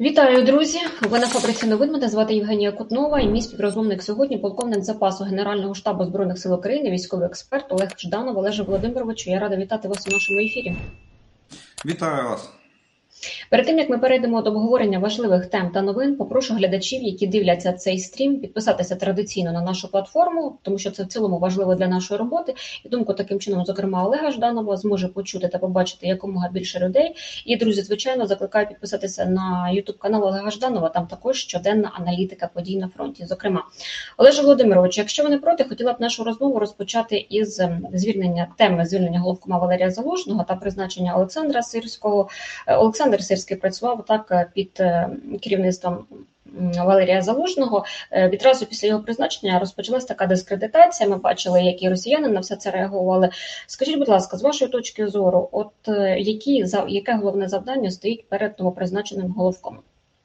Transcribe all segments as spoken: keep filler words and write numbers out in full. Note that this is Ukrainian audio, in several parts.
Вітаю, друзі! Ви на фабриці новин. Мене звати Євгенія Кутнова і мій співрозмовник сьогодні полковник запасу Генерального штабу Збройних сил України, військовий експерт Олег Жданов. Олеже Володимировичу, я рада вітати вас у нашому ефірі. Вітаю вас! Перед тим, як ми перейдемо до обговорення важливих тем та новин, попрошу глядачів, які дивляться цей стрім, підписатися традиційно на нашу платформу, тому що це в цілому важливо для нашої роботи. І думку таким чином, зокрема, Олега Жданова зможе почути та побачити якомога більше людей. І, друзі, звичайно, закликаю підписатися на ютуб-канал Олега Жданова, там також щоденна аналітика подій на фронті. Зокрема, Олеже Володимировичу, якщо ви не проти, хотіла б нашу розмову розпочати із звільнення теми звільнення головкома Валерія Залужного та призначення Олександра Сирського. Олександр Сирський працював так під керівництвом Валерія Залужного. Відразу після його призначення розпочалась така дискредитація. Ми бачили, які росіяни на все це реагували. Скажіть, будь ласка, з вашої точки зору, от які, яке головне завдання стоїть перед новопризначеним головкомом?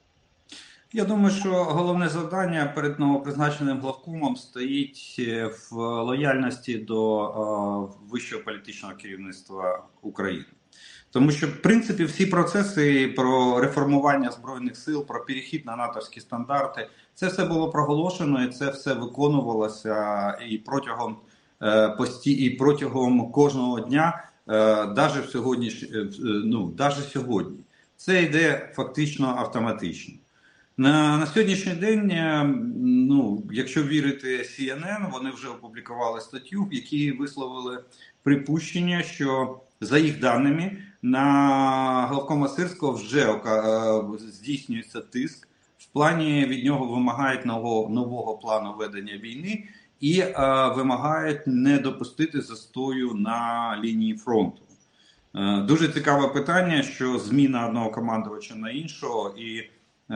Я думаю, що головне завдання перед новопризначеним главкомом стоїть в лояльності до е, вищого політичного керівництва України. Тому що, в принципі, всі процеси про реформування Збройних сил, про перехід на натовські стандарти, це все було проголошено і це все виконувалося і протягом, е, пості, і протягом кожного дня, е, навіть в сьогодні, ну, навіть сьогодні. Це йде фактично автоматично. На, на сьогоднішній день, ну, якщо вірити Сі Ен Ен, вони вже опублікували статтю, в якій висловили припущення, що за їх даними на главкома Сирського вже е, здійснюється тиск, в плані від нього вимагають нового, нового плану ведення війни і е, вимагають не допустити застою на лінії фронту. Е, дуже цікаве питання, що зміна одного командувача на іншого і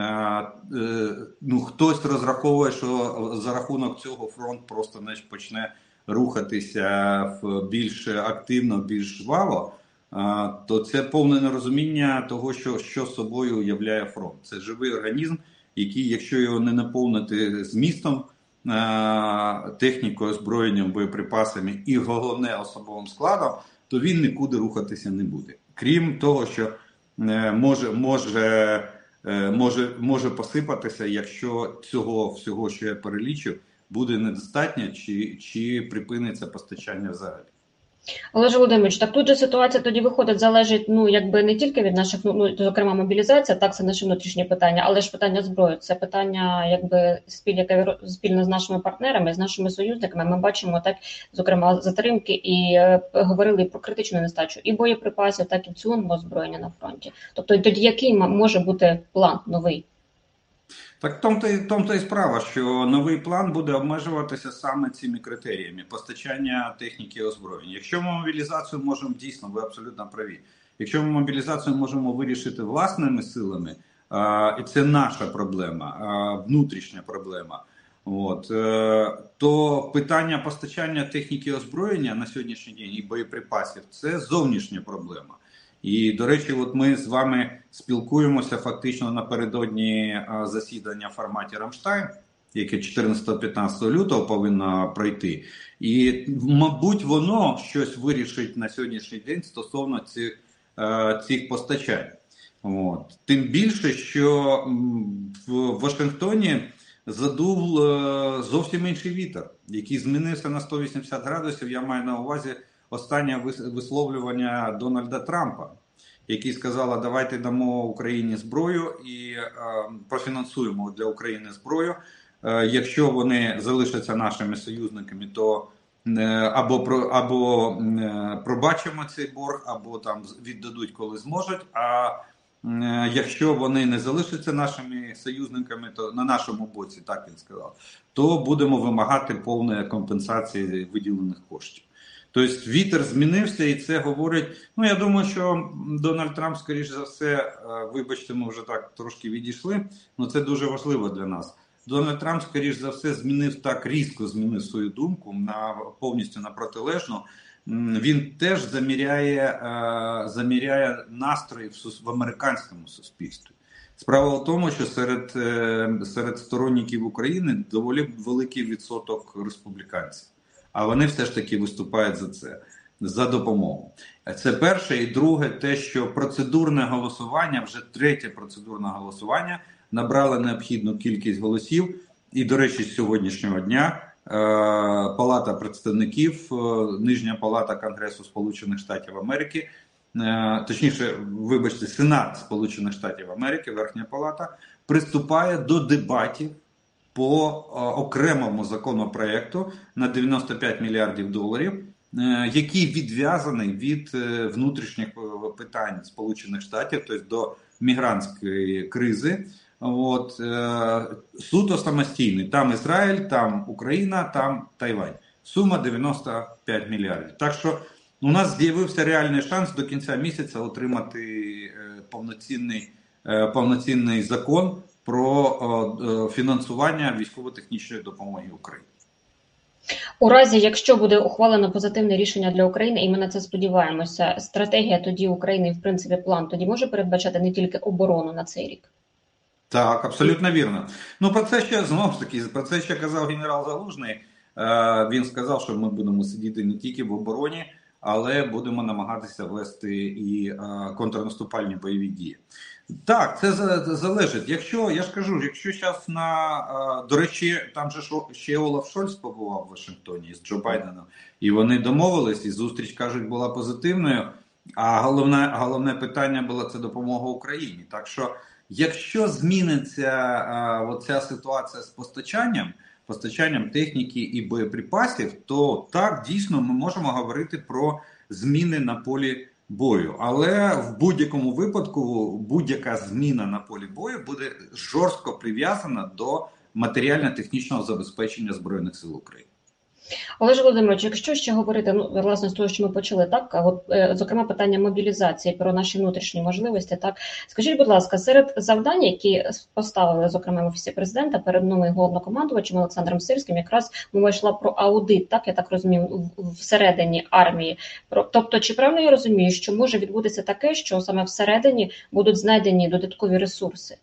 ну, хтось розраховує, що за рахунок цього фронт просто не почне рухатися більш активно, більш жваво, то це повне нерозуміння того, що, що собою являє фронт. Це живий організм, який, якщо його не наповнити змістом, технікою, озброєнням, боєприпасами і, головне, особовим складом, то він нікуди рухатися не буде. Крім того, що може... може Може, може посипатися, якщо цього всього, що я перелічив, буде недостатньо, чи, чи припиниться постачання взагалі. Олеже Володимирович, так тут же ситуація тоді виходить, залежить, ну, якби не тільки від наших, ну, зокрема, мобілізація, так, це наше внутрішнє питання, але ж питання зброї, це питання, якби, спіль, яке спільно з нашими партнерами, з нашими союзниками. Ми бачимо, так, зокрема, затримки і е, говорили про критичну нестачу і боєприпасів, так і в цілому озброєння на фронті. Тобто, тоді який може бути план новий? Так в тому-то, в тому-то і справа, що новий план буде обмежуватися саме цими критеріями постачання техніки і озброєння. Якщо ми мобілізацію можемо, дійсно, ви абсолютно праві, якщо ми мобілізацію можемо вирішити власними силами, а, і це наша проблема, а, внутрішня проблема, от, е, то питання постачання техніки і озброєння на сьогоднішній день і боєприпасів – це зовнішня проблема. І, до речі, от ми з вами спілкуємося фактично напередодні засідання в форматі Рамштайн, яке чотирнадцятого-п'ятнадцятого лютого повинно пройти. І, мабуть, воно щось вирішить на сьогоднішній день стосовно цих, цих постачань. От. Тим більше, що в Вашингтоні задув зовсім інший вітер, який змінився на сто вісімдесят градусів, я маю на увазі останнє висловлювання Дональда Трампа, який сказав, давайте дамо Україні зброю і е, профінансуємо для України зброю. Е, якщо вони залишаться нашими союзниками, то е, або, про, або е, пробачимо цей борг, або там віддадуть, коли зможуть. А е, якщо вони не залишаться нашими союзниками, то на нашому боці, так він сказав, то будемо вимагати повної компенсації виділених коштів. Тобто вітер змінився, і це говорить, ну я думаю, що Дональд Трамп, скоріш за все, вибачте, ми вже так трошки відійшли, але це дуже важливо для нас. Дональд Трамп, скоріш за все, змінив так, різко змінив свою думку на повністю на протилежну. Він теж заміряє, заміряє настрої в, в американському суспільстві. Справа в тому, що серед, серед сторонників України доволі великий відсоток республіканців. А вони все ж таки виступають за це. за допомогу. Це перше. І друге, те, що процедурне голосування, вже третє процедурне голосування, набрало необхідну кількість голосів. І, до речі, з сьогоднішнього дня Палата представників, Нижня палата Конгресу Сполучених Штатів Америки, точніше, вибачте, Сенат Сполучених Штатів Америки, Верхня Палата, приступає до дебатів по окремому законопроекту на дев'яносто п'ять мільярдів доларів, який відв'язаний від внутрішніх питань Сполучених Штатів, тобто до мігрантської кризи. От, е, суто самостійний. Там Ізраїль, там Україна, там Тайвань. Сума дев'яносто п'ять мільярдів. Так що у нас з'явився реальний шанс до кінця місяця отримати е, повноцінний, е, повноцінний закон про е, фінансування військово-технічної допомоги Україні. У разі, якщо буде ухвалено позитивне рішення для України, і ми на це сподіваємося, стратегія тоді України, в принципі, план тоді може передбачати не тільки оборону на цей рік? Так, абсолютно вірно. Ну, про це ще, знову ж таки, про це ще казав генерал Залужний. Він сказав, що ми будемо сидіти не тільки в обороні, але будемо намагатися вести і контрнаступальні бойові дії. Так, це залежить. Якщо, я ж кажу, якщо зараз на, до речі, там же ще Олаф Шольц побував в Вашингтоні з Джо Байденом, і вони домовились, і зустріч, кажуть, була позитивною, а головне, головне питання було це допомога Україні. Так що, якщо зміниться а, оця ситуація з постачанням, постачанням техніки і боєприпасів, то так, дійсно, ми можемо говорити про зміни на полі бою. Але в будь-якому випадку будь-яка зміна на полі бою буде жорстко прив'язана до матеріально-технічного забезпечення Збройних сил України. Олеже Володимировичу, якщо ще говорити, ну, власне, з того, що ми почали, так, от, е, зокрема, питання мобілізації, про наші внутрішні можливості, так, скажіть, будь ласка, серед завдань, які поставили, зокрема, в Офісі Президента перед новим головнокомандувачем Олександром Сирським, якраз мова йшла про аудит, так, я так розумію, всередині армії. Про, тобто, чи правильно я розумію, що може відбутися таке, що саме всередині будуть знайдені додаткові ресурси?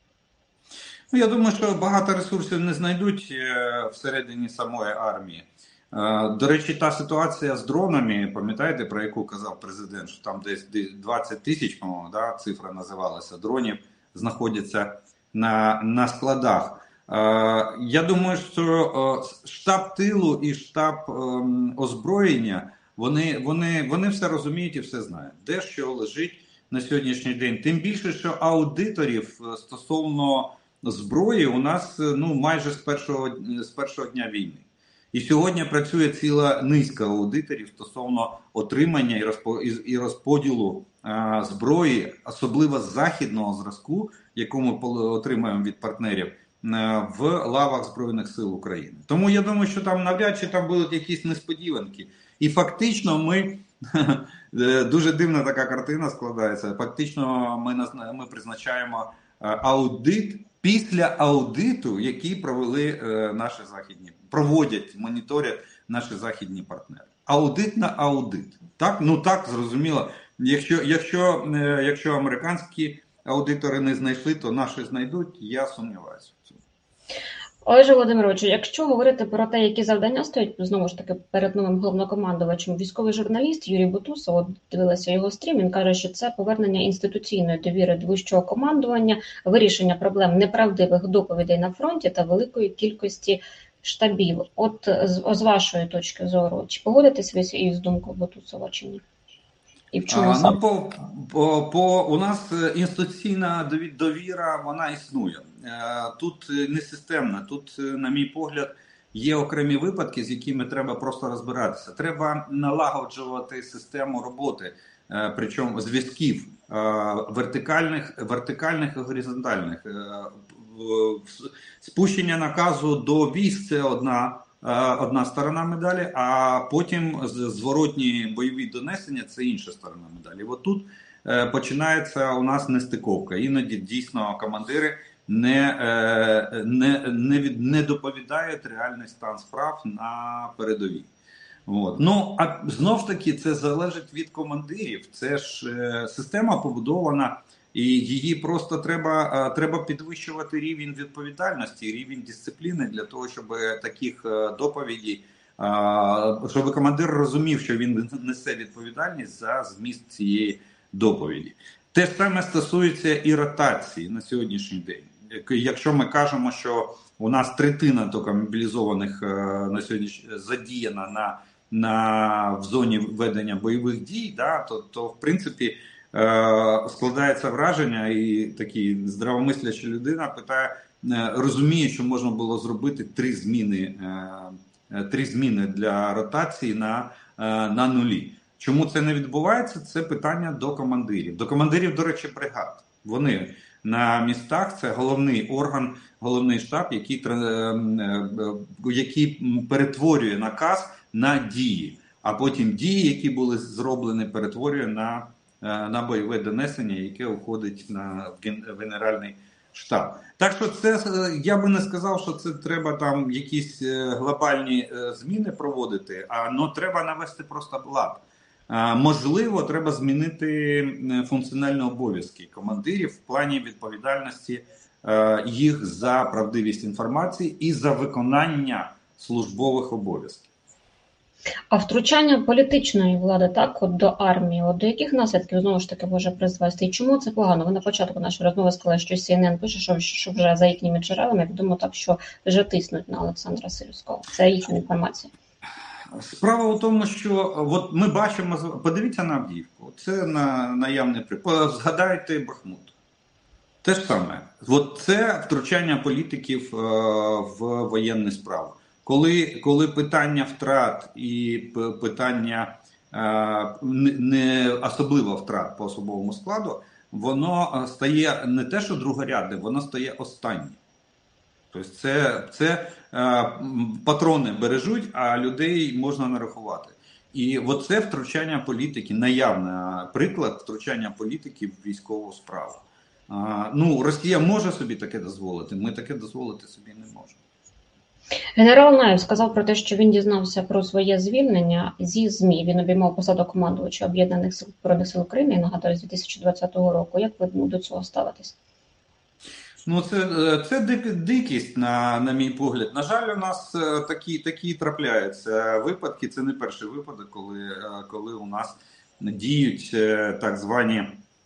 Ну, я думаю, що багато ресурсів не знайдуть всередині самої армії. До речі, та ситуація з дронами, пам'ятаєте, про яку казав президент, що там десь двадцять тисяч, по-моєму, да, цифра називалася, дронів знаходяться на, на складах. Я думаю, що штаб тилу і штаб озброєння, вони, вони, вони все розуміють і все знають, де що лежить на сьогоднішній день. Тим більше, що аудиторів стосовно зброї у нас, ну, майже з першого, з першого дня війни. І сьогодні працює ціла низка аудиторів стосовно отримання і розподілу а, зброї, особливо західного зразку, яку ми отримаємо від партнерів, а, в лавах Збройних сил України. Тому я думаю, що там навряд чи там будуть якісь несподіванки. І фактично ми, дуже дивна така картина складається, фактично ми, ми призначаємо аудит після аудиту, який провели е, наші західні, проводять, моніторять наші західні партнери. Аудит на аудит. Так? Ну так, зрозуміло. Якщо, якщо, е, якщо американські аудитори не знайшли, то наші знайдуть, я сумніваюся в цьому. Олеже Володимировичу, якщо говорити про те, які завдання стоять, знову ж таки, перед новим головнокомандувачем, військовий журналіст Юрій Бутусов, от дивилася його стрім, він каже, що це повернення інституційної довіри до вищого командування, вирішення проблем неправдивих доповідей на фронті та великої кількості штабів. От з, з вашої точки зору, чи погодитесь ви із думкою Бутусова, чи ні? І в чому а, ну, по, по, по, у нас інституційна довіра, вона існує. Тут не системна, тут, на мій погляд, є окремі випадки, з якими треба просто розбиратися. Треба налагоджувати систему роботи, причому зв'язків вертикальних, вертикальних і горизонтальних. Спущення наказу до військ – це одна одна сторона медалі, а потім зворотні бойові донесення – це інша сторона медалі. От тут починається у нас нестиковка. Іноді дійсно командири не, не, не, від, не доповідають реальний стан справ на передовій. От. Ну, а знов ж таки це залежить від командирів. Це ж е, система побудована, і її просто треба, е, треба підвищувати рівень відповідальності, рівень дисципліни для того, щоб таких е, доповідей щоб командир розумів, що він несе відповідальність за зміст цієї доповіді. Те ж саме стосується і ротації на сьогоднішній день. Якщо ми кажемо, що у нас третина тільки мобілізованих на сьогодні задіяна на, на в зоні ведення бойових дій, да, то, то в принципі складається враження, і такий здравомисляща людина питає, розуміє, що можна було зробити три зміни, три зміни для ротації на, на нулі. Чому це не відбувається? Це питання до командирів. До командирів, до речі, бригад. Вони на містах, це головний орган, головний штаб, який, який перетворює наказ на дії. А потім дії, які були зроблені, перетворює на, на бойове донесення, яке уходить на генеральний штаб. Так що це, я би не сказав, що це треба там якісь глобальні зміни проводити, а ну, треба навести просто лад. Можливо, треба змінити функціональні обов'язки командирів в плані відповідальності їх за правдивість інформації і за виконання службових обов'язків. А втручання політичної влади так от до армії, от до яких наслідків знову ж таки може призвести? І чому це погано? Ви на початку нашої розмови сказали, що Сі Ен Ен пише, що, що вже за їхніми джерелами відомо так, що вже тиснуть на Олександра Сирського. Це їхня інформація. Справа у тому, що от ми бачимо, подивіться на Авдіївку, це на наявний приклад, згадайте Бахмут. Те ж саме. От це втручання політиків е, в воєнні справи. Коли, коли питання втрат і питання е, не особливо втрат по особовому складу, воно стає не те, що другорядне, воно стає останнє. Тобто це, це е, патрони бережуть, а людей можна нарахувати. І оце втручання політики, наявний приклад втручання політики в військову справу. Е, ну, Росія може собі таке дозволити, ми таке дозволити собі не можемо. Генерал Наєв сказав про те, що він дізнався про своє звільнення зі ЗМІ. Він обіймав посаду командувача Об'єднаних сил Збройних сил України, я нагадаю, з дві тисячі двадцятого року. Як ви до цього ставитесь? Ну, це, це дик, дикість, на, на мій погляд. На жаль, у нас такі, такі трапляються випадки. Це не перший випадок, коли, коли у нас діють так звані,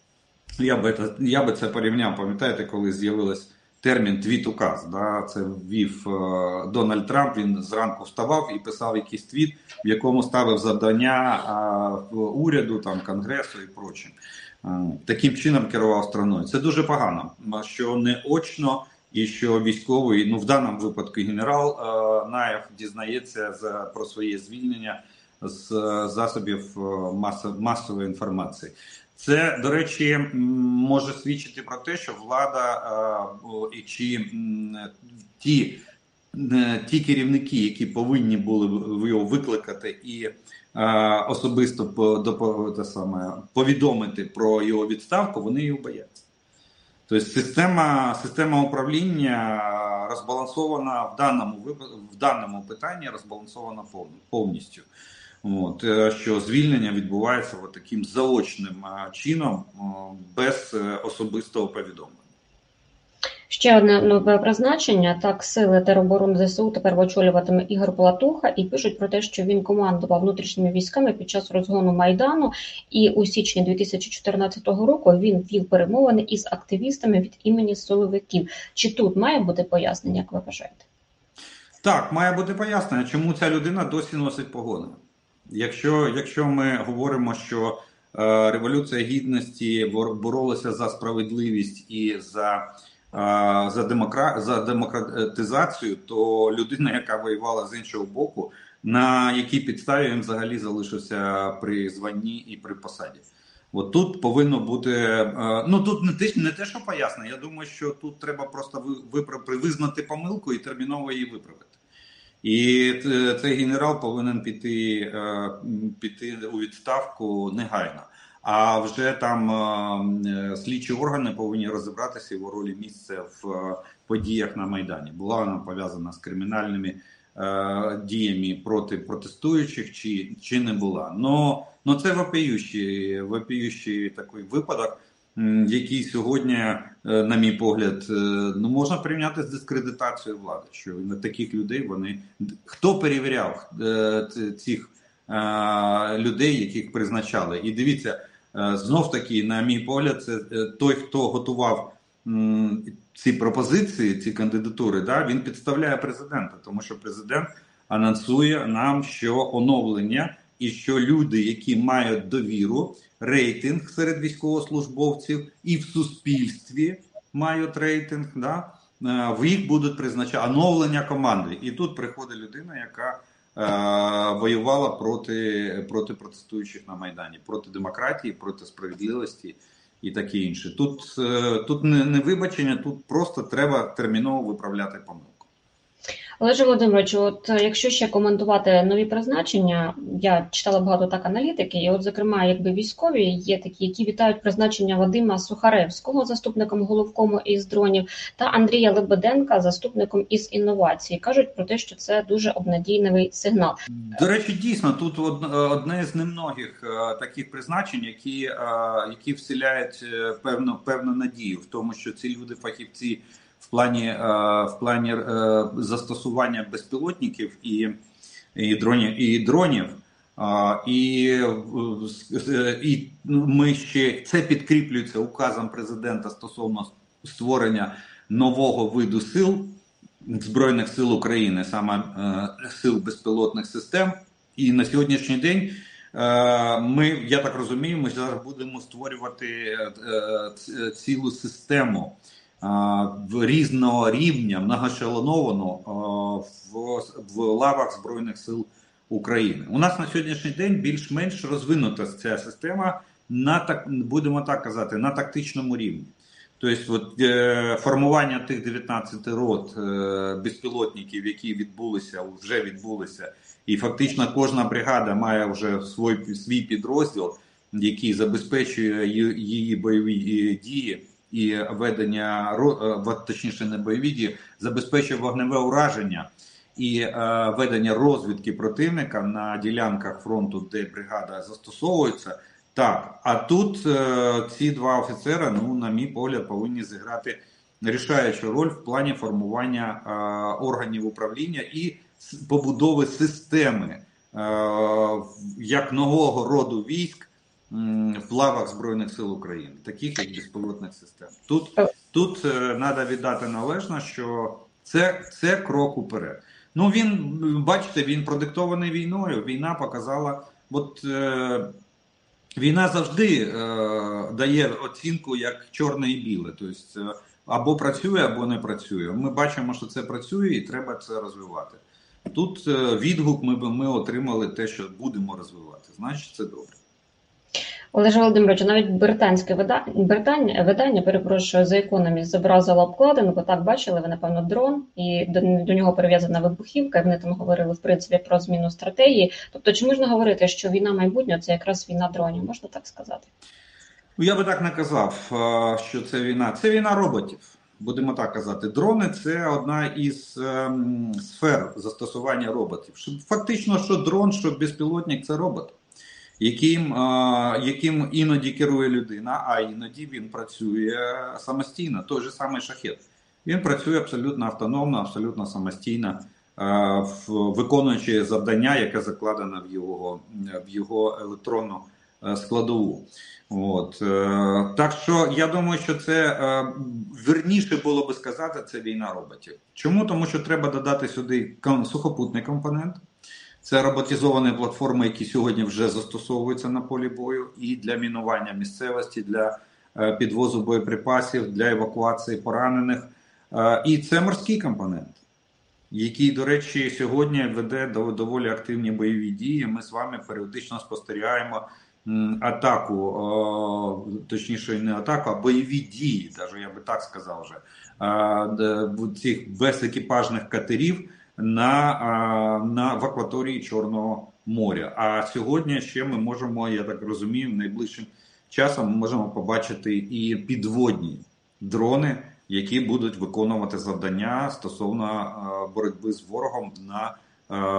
я би, я би це порівняв, пам'ятаєте, коли з'явилось термін твіт-указ, да, це ввів е, Дональд Трамп, він зранку вставав і писав якийсь твіт, в якому ставив завдання е, уряду, там, Конгресу і прочим. Е, таким чином керував страною. Це дуже погано, що не очно і що військовий, ну в даному випадку генерал е, Наєв дізнається за, про своє звільнення з засобів мас, масової інформації. Це, до речі, може свідчити про те, що влада і чи ті, ті керівники, які повинні були його викликати і особисто по, те саме, повідомити про його відставку, вони його бояться. Тобто система, система управління розбалансована в даному, в даному питанні, розбалансована повністю. От, що звільнення відбувається от таким заочним чином, без особистого повідомлення. Ще одне нове призначення. Так, сили тероборони зе се у тепер очолюватиме Ігор Платуха, і пишуть про те, що він командував внутрішніми військами під час розгону Майдану, і у січні дві тисячі чотирнадцятого року він вів перемовини із активістами від імені силовиків. Чи тут має бути пояснення, як ви вважаєте? Так, має бути пояснення, чому ця людина досі носить погони. Якщо, якщо ми говоримо, що е, Революція Гідності боролася за справедливість і за, е, за, демокра... за демократизацію, то людина, яка воювала з іншого боку, на якій підставі він взагалі залишився при званні і при посаді. От тут повинно бути, е, ну тут не те, не те, що пояснення, я думаю, що тут треба просто виправ... визнати помилку і терміново її виправити. І цей генерал повинен піти, піти у відставку негайно. А вже там слідчі органи повинні розібратися його ролі місця в подіях на Майдані. Була вона пов'язана з кримінальними діями проти протестуючих, чи, чи не була. Но, но це вопіющий, вопіющий такий випадок. який сьогодні, на мій погляд, ну можна порівняти з дискредитацією влади, що на таких людей вони... Хто перевіряв цих людей, яких призначали? І дивіться, знов таки, на мій погляд, це той, хто готував ці пропозиції, ці кандидатури, да, він підставляє президента, тому що президент анонсує нам, що оновлення і що люди, які мають довіру, рейтинг серед військовослужбовців і в суспільстві мають рейтинг, да, в їх будуть призначати оновлення команди. І тут приходить людина, яка е, воювала проти, проти протестуючих на Майдані, проти демократії, проти справедливості і таке інше. Тут, е, тут не, не вибачення, тут просто треба терміново виправляти помилку. Олеже Володимировичу, от якщо ще коментувати нові призначення, я читала багато так аналітики, і от, зокрема, якби військові є такі, які вітають призначення Вадима Сухаревського заступником головкому із дронів та Андрія Лебеденка заступником із інновацій. Кажуть про те, що це дуже обнадійливий сигнал. До речі, дійсно, тут одне з немногих таких призначень, які, які вселяють певну, певну надію в тому, що ці люди фахівці в плані, в плані застосування безпілотників і, і дронів, і дронів, і, і ми ще це підкріплюється указом президента стосовно створення нового виду сил Збройних сил України, саме сил безпілотних систем. І на сьогоднішній день ми, я так розумію, ми зараз будемо створювати цілу систему в різного рівня, многошелоновану в, в лавах Збройних сил України. У нас на сьогоднішній день більш-менш розвинута ця система, на так, будемо так казати, на тактичному рівні. Тобто от, е, формування тих дев'ятнадцяти рот е, безпілотників, які відбулися, вже відбулися, і фактично кожна бригада має вже свій, свій підрозділ, який забезпечує її бойові дії, і ведення, точніше не бойові дії, забезпечує вогневе ураження і е, ведення розвідки противника на ділянках фронту, де бригада застосовується. Так, а тут е, ці два офіцера, ну, на мій погляд, повинні зіграти рішаючу роль в плані формування е, органів управління і побудови системи е, як нового роду військ в лавах Збройних сил України, таких як безпілотних систем. Тут, тут треба віддати належно, що це, це крок уперед. Ну, він, бачите, він продиктований війною. Війна показала, от е, війна завжди е, дає оцінку як чорне і біле. Тобто або працює, або не працює. Ми бачимо, що це працює і треба це розвивати. Тут е, відгук ми, ми отримали те, що будемо розвивати. Значить, це добре. Олеже Володимировичу, навіть британське видання, видання, видання, перепрошую, The Economist зобразило обкладинку, так бачили, ви, напевно, дрон, і до, до нього прив'язана вибухівка, і вони там говорили, в принципі, про зміну стратегії. Тобто, чи можна говорити, що війна майбутнього – це якраз війна дронів, можна так сказати? Я би так не казав, що це війна. Це війна роботів, будемо так казати. Дрони – це одна із ем, сфер застосування роботів. Фактично, що дрон, що безпілотник – це робот. Яким, яким іноді керує людина, а іноді він працює самостійно. Той же самий шахет. Він працює абсолютно автономно, абсолютно самостійно, виконуючи завдання, яке закладено в його, в його електронну складову. От. Так що я думаю, що це вірніше було би сказати, це війна роботів. Чому? Тому що треба додати сюди сухопутний компонент. Це роботизовані платформи, які сьогодні вже застосовуються на полі бою і для мінування місцевості, для підвозу боєприпасів, для евакуації поранених. І це морський компонент, який, до речі, сьогодні веде доволі активні бойові дії. Ми з вами періодично спостерігаємо атаку, точніше не атаку, а бойові дії, навіть я би так сказав вже, цих безекіпажних катерів, На, на в акваторії Чорного моря. А сьогодні ще ми можемо, я так розумію, найближчим часом ми можемо побачити і підводні дрони, які будуть виконувати завдання стосовно боротьби з ворогом на,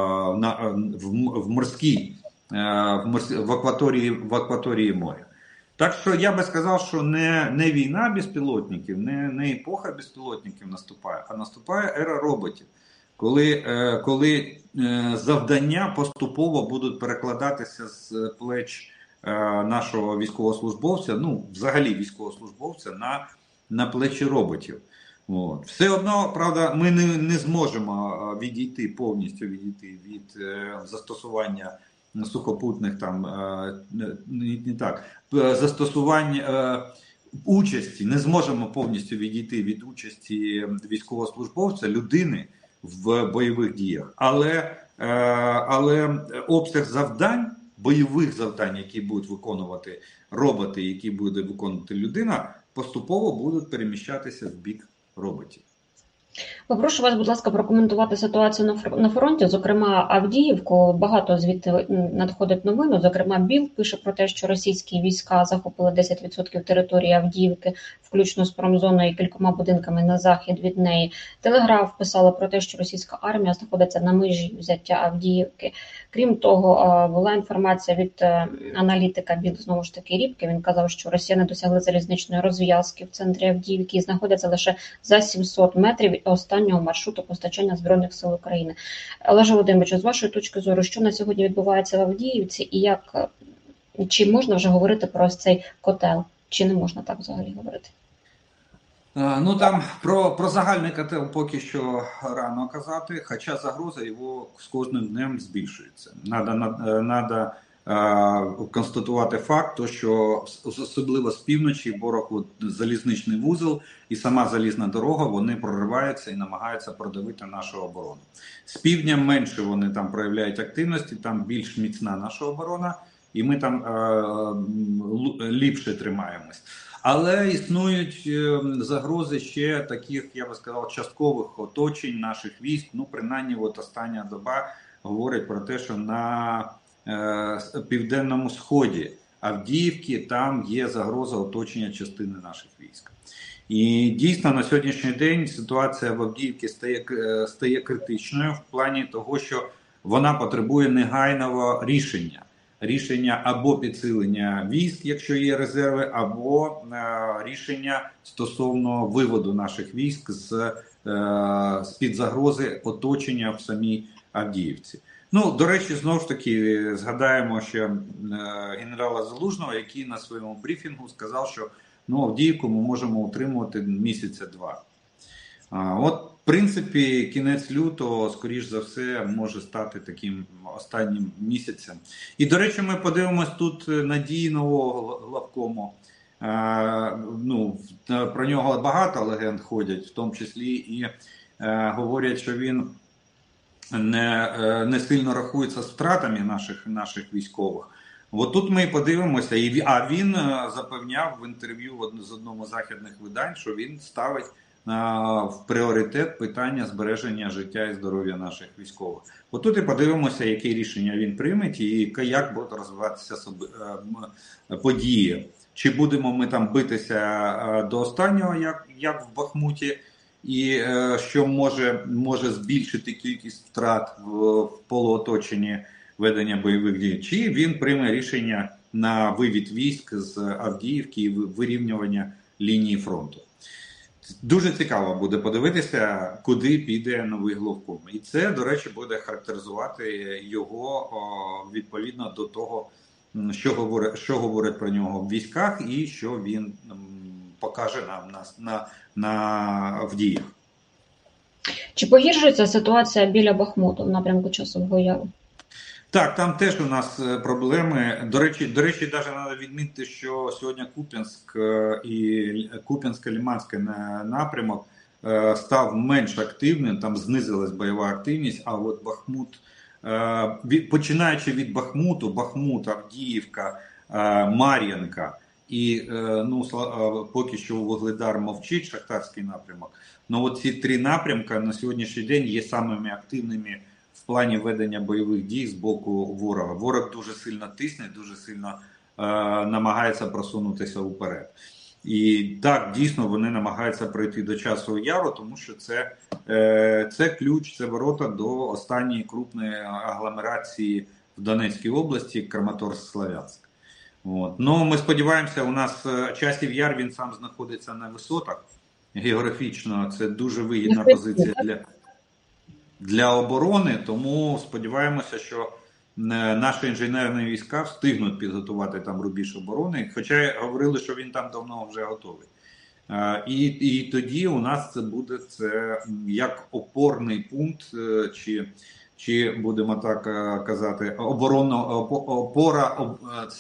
на, в, в морській, в, морській, в, акваторії, в акваторії моря. Так що я би сказав, що не, не війна безпілотників, не, не епоха безпілотників наступає, а наступає ера роботів. Коли, е, коли е, завдання поступово будуть перекладатися з плеч е, нашого військовослужбовця, ну, взагалі військовослужбовця, на, на плечі роботів. От. Все одно, правда, ми не, не зможемо відійти, повністю відійти від е, застосування сухопутних там, е, не, не так, застосування е, участі, не зможемо повністю відійти від участі військовослужбовця, людини в бойових діях. Але, е, але обсяг завдань, бойових завдань, які будуть виконувати роботи, які буде виконувати людина, поступово будуть переміщатися в бік роботів. Попрошу вас, будь ласка, прокоментувати ситуацію на фронті, зокрема Авдіївку. Багато звідти надходить новину. Зокрема, Біл пише про те, що російські війська захопили десять відсотків території Авдіївки, включно з промзоною і кількома будинками на захід від неї. Телеграф писала про те, що російська армія знаходиться на межі взяття Авдіївки. Крім того, була інформація від аналітика Біл, знову ж таки, Рібки. Він казав, що росіяни досягли залізничної розв'язки в центрі Авдіївки і знаходяться лише за сімсот метрів від останнього маршруту постачання Збройних сил України. Олеже Володимировичу, з вашої точки зору, що на сьогодні відбувається в Авдіївці і як, чи можна вже говорити про ось цей котел, чи не можна так взагалі говорити? Ну там про, про загальний котел поки що рано казати, хоча загроза його з кожним днем збільшується. Надо, надо е, констатувати факт, то, що особливо з півночі ворог от, залізничний вузол і сама залізна дорога, вони прориваються і намагаються продавити нашу оборону. З півдня менше вони там проявляють активності, там більш міцна наша оборона, і ми там е, ліпше тримаємось. Але існують загрози ще таких, я би сказав, часткових оточень наших військ. Ну, принаймні, от остання доба говорить про те, що на е, південному сході Авдіївки там є загроза оточення частини наших військ. І дійсно на сьогоднішній день ситуація в Авдіївці стає, стає критичною в плані того, що вона потребує негайного рішення. Рішення або підсилення військ, якщо є резерви, або е, рішення стосовно виводу наших військ з, е, з-під загрози оточення в самій Авдіївці. Ну, до речі, знову ж таки, згадаємо ще е, генерала Залужного, який на своєму брифінгу сказав, що ну, Авдіївку ми можемо утримувати місяця два. А, от, в принципі, кінець лютого, скоріш за все, може стати таким останнім місяцем. І, до речі, ми подивимось тут на дії нового главкому. А, ну, про нього багато легенд ходять, в тому числі і а, говорять, що він не, не сильно рахується з втратами наших, наших військових. От тут ми подивимося, і, а він запевняв в інтерв'ю з одному з західних видань, що він ставить в пріоритет питання збереження життя і здоров'я наших військових. Отут і подивимося, які рішення він прийме і як будуть розвиватися події. Чи будемо ми там битися до останнього, як, як в Бахмуті, і що може, може збільшити кількість втрат в, в полуоточенні ведення бойових дій, чи він прийме рішення на вивід військ з Авдіївки і вирівнювання лінії фронту. Дуже цікаво буде подивитися, куди піде новий главком. І це, до речі, буде характеризувати його відповідно до того, що говорить, що говорить про нього в військах і що він покаже нам на, на, на в діях. Чи погіршується ситуація біля Бахмуту в напрямку Часового Яру? Так, там теж у нас проблеми. До речі, до речі, навіть треба відмітити, що сьогодні Куп'янськ і Куп'янсько-Лиманський напрямок став менш активним, там знизилась бойова активність, а от Бахмут, починаючи від Бахмуту, Бахмут, Авдіївка, Мар'їнка і, ну, поки що Вугледар мовчить, Шахтарський напрямок. Ну, от ці три напрямки на сьогоднішній день є самими активними в плані ведення бойових дій з боку ворога. Ворог дуже сильно тисне, дуже сильно е, намагається просунутися вперед. І так, дійсно, вони намагаються пройти до Часового Яру, тому що це, е, це ключ, це ворота до останньої крупної агломерації в Донецькій області, Краматорськ-Слов'янськ. От. Ну, ми сподіваємося, у нас Часів Яр, він сам знаходиться на висотах. Географічно це дуже вигідна позиція для, для оборони, тому сподіваємося, що наші інженерні війська встигнуть підготувати там рубіж оборони, хоча говорили, що він там давно вже готовий. І, і тоді у нас це буде це як опорний пункт, чи, чи будемо так казати, оборонна опора,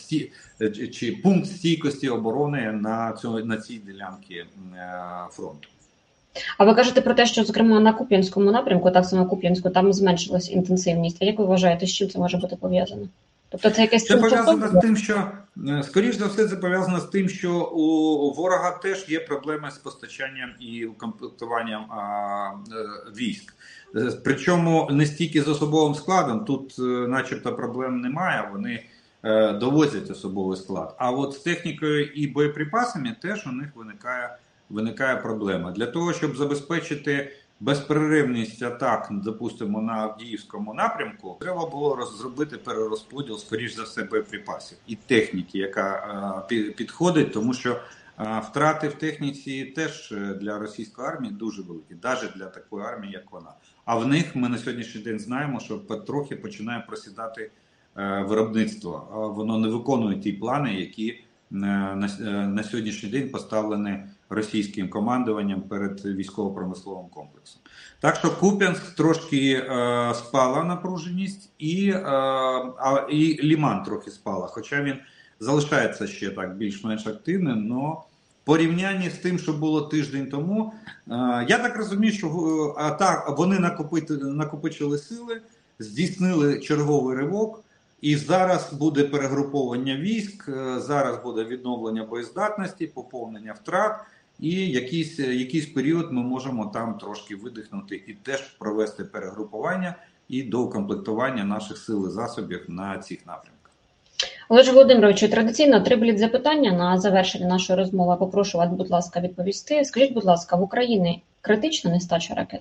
чи пункт стійкості оборони на, цьому, на цій ділянці фронту. А ви кажете про те, що, зокрема, на Куп'янському напрямку, так само Куп'янську, там зменшилась інтенсивність. А як ви вважаєте, з чим це може бути пов'язано? Тобто це якесь... Це пов'язано з тим, що, скоріш за все, це пов'язано з тим, що у ворога теж є проблеми з постачанням і укомплектуванням а, військ. Причому не стільки з особовим складом, тут начебто проблем немає, вони е, довозять особовий склад. А от з технікою і боєприпасами теж у них виникає виникає проблема. Для того, щоб забезпечити безперервність атак, допустимо, на Авдіївському напрямку, треба було розробити перерозподіл, скоріш за все, боєприпасів і техніки, яка е, підходить, тому що е, втрати в техніці теж для російської армії дуже великі, навіть для такої армії, як вона. А в них ми на сьогоднішній день знаємо, що потрохи починає просідати е, виробництво. Воно не виконує ті плани, які на, на сьогоднішній день поставлені російським командуванням перед військово-промисловим комплексом. Так що Куп'янськ трошки е, спала напруженість, і, е, а, і Лиман трохи спала, хоча він залишається ще так більш-менш активним, але в порівнянні з тим, що було тиждень тому, е, я так розумію, що а, так, вони накопити, накопичили сили, здійснили черговий ривок, і зараз буде перегруповання військ, зараз буде відновлення боєздатності, поповнення втрат, і якийсь, якийсь період ми можемо там трошки видихнути і теж провести перегрупування і доукомплектування наших сил і засобів на цих напрямках. Олеже Володимировичу, традиційно три бліц запитання на завершення нашої розмови. Попрошу вас, будь ласка, відповісти. Скажіть, будь ласка, в Україні критична нестача ракет?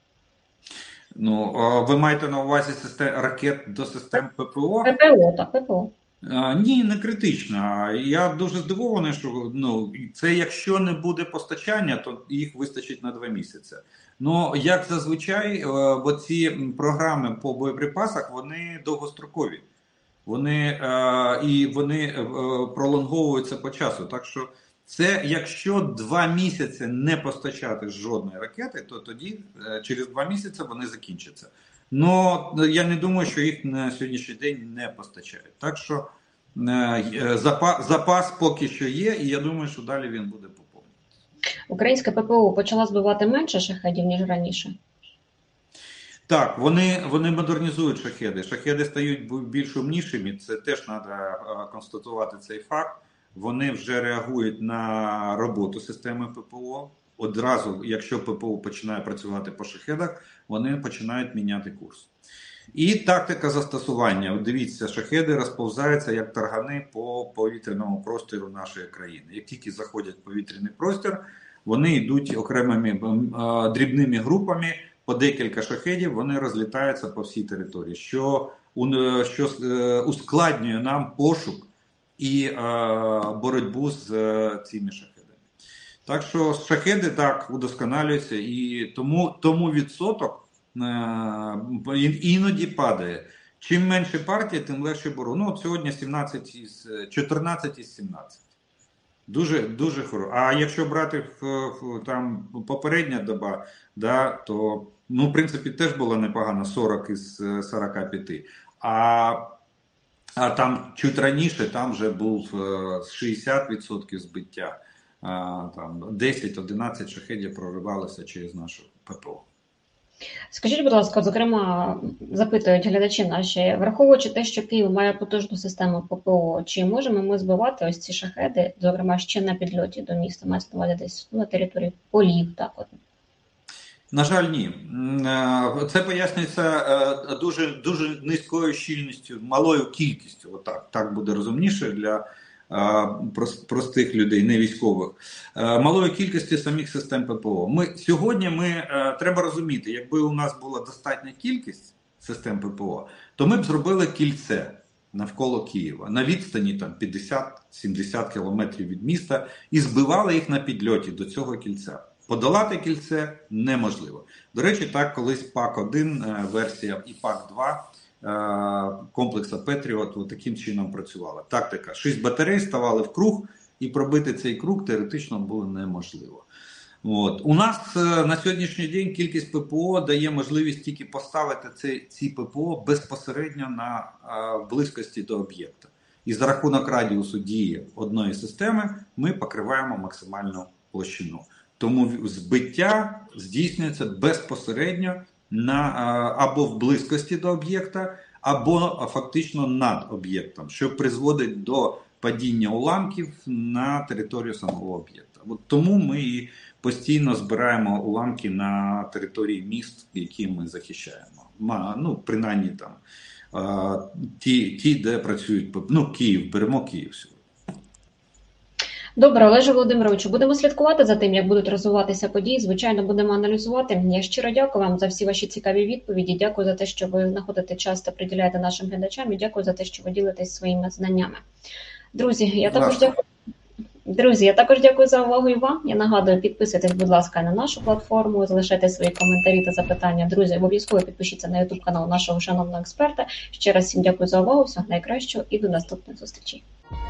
Ну, ви маєте на увазі систем, ракет до систем ППО? ППО, так, ППО. А, ні, не критично. Я дуже здивований, що ну, це якщо не буде постачання, то їх вистачить на два місяці. Ну, як зазвичай, оці програми по боєприпасах, вони довгострокові. Вони, е, і вони е, пролонговуються по часу. Так що це, якщо два місяці не постачати жодної ракети, то тоді е, через два місяці вони закінчаться. Ну, я не думаю, що їх на сьогоднішній день не постачають. Так що е, запас, запас поки що є, і я думаю, що далі він буде поповнюватися. Українська ППО почала збивати менше шахедів, ніж раніше? Так, вони, вони модернізують шахеди. Шахеди стають більш умнішими, це теж треба констатувати цей факт. Вони вже реагують на роботу системи ППО. Одразу, якщо ППО починає працювати по шахедах, вони починають міняти курс. І тактика застосування. От дивіться, шахеди розповзаються як таргани по повітряному простору нашої країни. Як тільки заходять в повітряний простір, вони йдуть окремими дрібними групами, по декілька шахедів, вони розлітаються по всій території, що, що ускладнює нам пошук і е, боротьбу з е, цими шахедами. Так що шахеди так удосконалюються, і тому, тому відсоток е, іноді падає. Чим менше партія, тим легше боротьба. Ну, от сьогодні сімнадцять із, чотирнадцять із сімнадцяти. Дуже, дуже хорошо. А якщо брати в, в, там попередня доба, да, то, ну, в принципі, теж було непогано, сорок із сорока п'яти. А, а там чуть раніше, там вже був шістдесят відсотків збиття. А, там десять-одинадцять шахедів проривалося через нашу ППО. Скажіть, будь ласка, зокрема, запитують глядачі наші, враховуючи те, що Київ має потужну систему ППО, чи можемо ми збивати ось ці шахеди, зокрема, ще на підльоті до міста, мається на увазі десь на території полів, так от? На жаль, ні. Це пояснюється дуже, дуже низькою щільністю, малою кількістю, отак, так буде розумніше для простих людей, не військових, малої кількості самих систем ППО. Ми, сьогодні ми, треба розуміти, якби у нас була достатня кількість систем ППО, то ми б зробили кільце. навколо Києва, на відстані там п'ятдесят-сімдесят кілометрів від міста, і збивали їх на підльоті до цього кільця. Подолати кільце неможливо. До речі, так колись пак один версія і пак два комплекса Петріот таким чином працювала. Тактика. Шість батарей ставали в круг, і пробити цей круг теоретично було неможливо. От. У нас на сьогоднішній день кількість ППО дає можливість тільки поставити ці, ці ППО безпосередньо на а, близькості до об'єкта. І за рахунок радіусу дії одної системи ми покриваємо максимальну площину. Тому збиття здійснюється безпосередньо на, а, або в близькості до об'єкта, або фактично над об'єктом, що призводить до падіння уламків на територію самого об'єкта. От тому ми і постійно збираємо уламки на території міст, які ми захищаємо. Ну, принаймні там ті, ті де працюють, ну, Київ, беремо Київ сьогодні. Добре, Олеже Володимировичу, будемо слідкувати за тим, як будуть розвиватися події. Звичайно, будемо аналізувати. Я щиро дякую вам за всі ваші цікаві відповіді. Дякую за те, що ви знаходите час та приділяєте нашим глядачам. І дякую за те, що ви ділитесь своїми знаннями. Друзі, я також дякую. Друзі, я також дякую за увагу і вам. Я нагадую, підписуйтесь, будь ласка, на нашу платформу, залишайте свої коментарі та запитання. Друзі, обов'язково підпишіться на ютуб канал нашого шановного експерта. Ще раз всім дякую за увагу, всього найкращого і до наступних зустрічей.